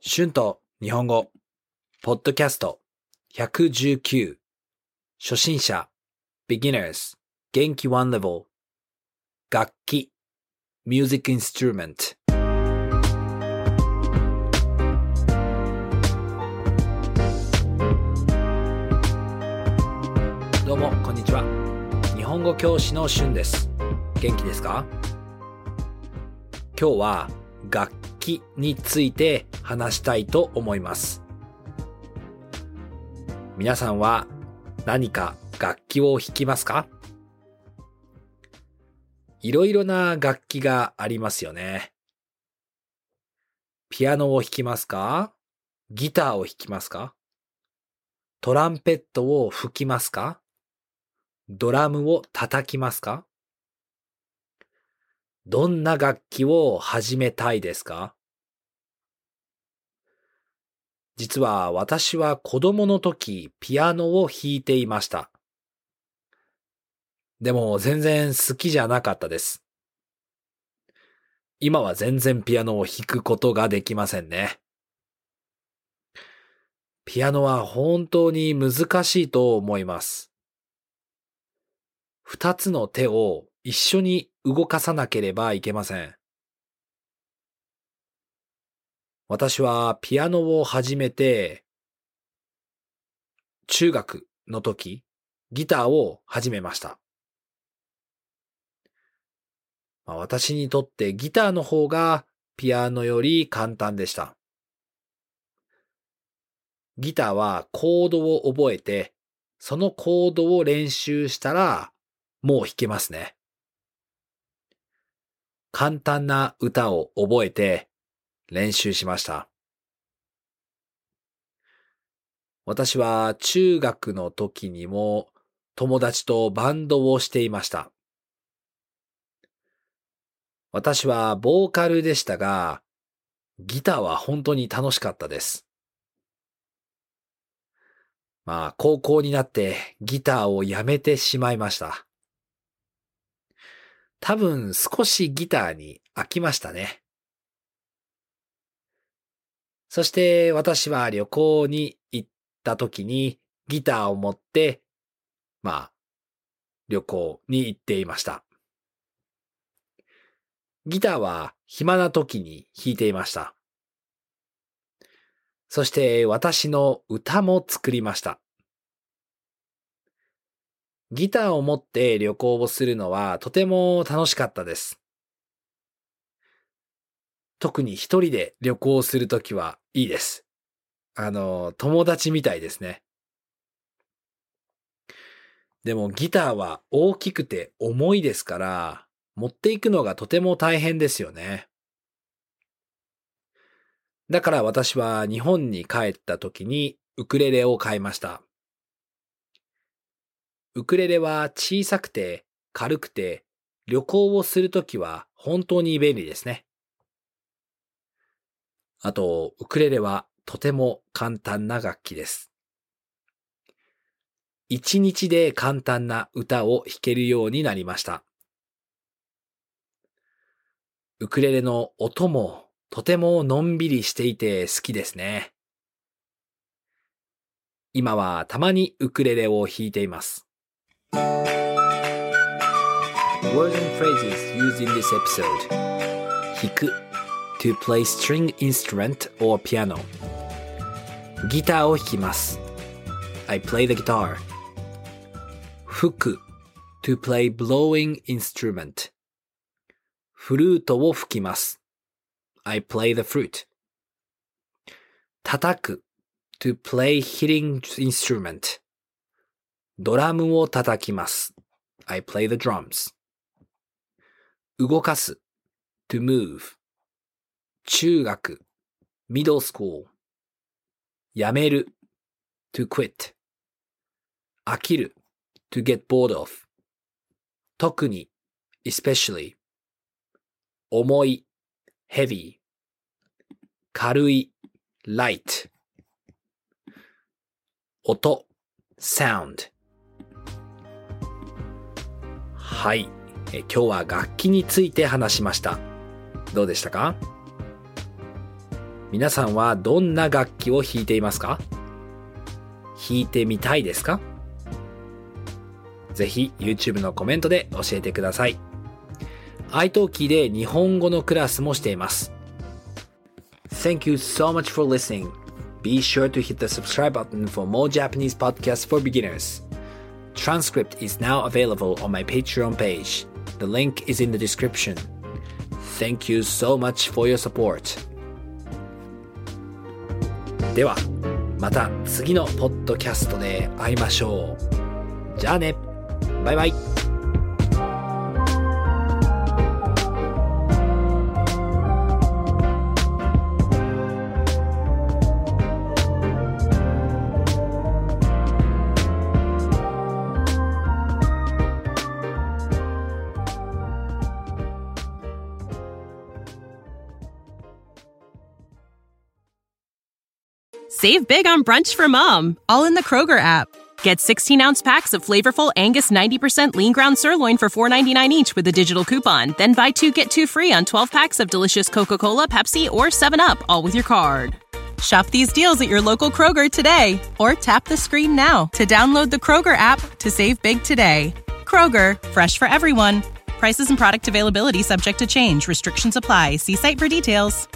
春と日本語ポッドキャスト119初心者 Beginners 元気 One Level 楽器 Music Instrument。 どうもこんにちは。日本語教師の春です。元気ですか？今日は楽器について話したいと思います。皆さんは何か楽器を弾きますか？いろいろな楽器がありますよね。ピアノを弾きますか？ギターを弾きますか？トランペットを吹きますか？ドラムを叩きますか？どんな楽器を始めたいですか？実は私は子供の時ピアノを弾いていました。でも全然好きじゃなかったです。今は全然ピアノを弾くことができませんね。ピアノは本当に難しいと思います。二つの手を一緒に動かさなければいけません。私はピアノを始めて、中学の時、ギターを始めました。私にとってギターの方がピアノより簡単でした。ギターはコードを覚えて、そのコードを練習したらもう弾けますね。簡単な歌を覚えて練習しました。私は中学の時にも友達とバンドをしていました。私はボーカルでしたが、ギターは本当に楽しかったです。高校になってギターをやめてしまいました。多分少しギターに飽きましたね。そして私は旅行に行った時にギターを持って、旅行に行っていました。ギターは暇な時に弾いていました。そして私の歌も作りました。ギターを持って旅行をするのはとても楽しかったです。特に一人で旅行するときはいいです。友達みたいですね。でもギターは大きくて重いですから、持っていくのがとても大変ですよね。だから私は日本に帰った時にウクレレを買いました。ウクレレは小さくて軽くて旅行をするときは本当に便利ですね。あと、ウクレレはとても簡単な楽器です。一日で簡単な歌を弾けるようになりました。ウクレレの音もとてものんびりしていて好きですね。今はたまにウクレレを弾いています。Words and phrases used in this episode. 弾く to play string instrument or piano. ギターを弾きます。I play the guitar. 吹く to play blowing instrument. フルートを吹きます。I play the flute. 叩く to play hitting instrument. ドラムを叩きます。I play the drums. 動かす to move. 中学 middle school. やめる to quit. 飽きる to get bored of. 特に especially. 重い heavy. 軽い light. 音 sound. はい、今日は楽器について話しました。どうでしたか？ 皆さんはどんな楽器を弾いていますか？弾いてみたいですか？ぜひ YouTube のコメントで教えてください。iTalki で日本語のクラスもしています。Thank you so much for listening. Be sure to hit the subscribe button for more Japanese podcasts for beginners. Transcript is now available on my Patreon page. The link is in the description. Thank you so much for your support. では、また次のポッドキャストで会いましょう。じゃあね。バイバイ。 Save big on brunch for mom, all in the Kroger app. Get 16-ounce packs of flavorful Angus 90% lean ground sirloin for $4.99 each with a digital coupon. Then buy 2, get 2 free on 12 packs of delicious Coca-Cola, Pepsi, or 7-Up, all with your card. Shop these deals at your local Kroger today, or tap the screen now to download the Kroger app to save big today. Kroger, fresh for everyone. Prices and product availability subject to change. Restrictions apply. See site for details.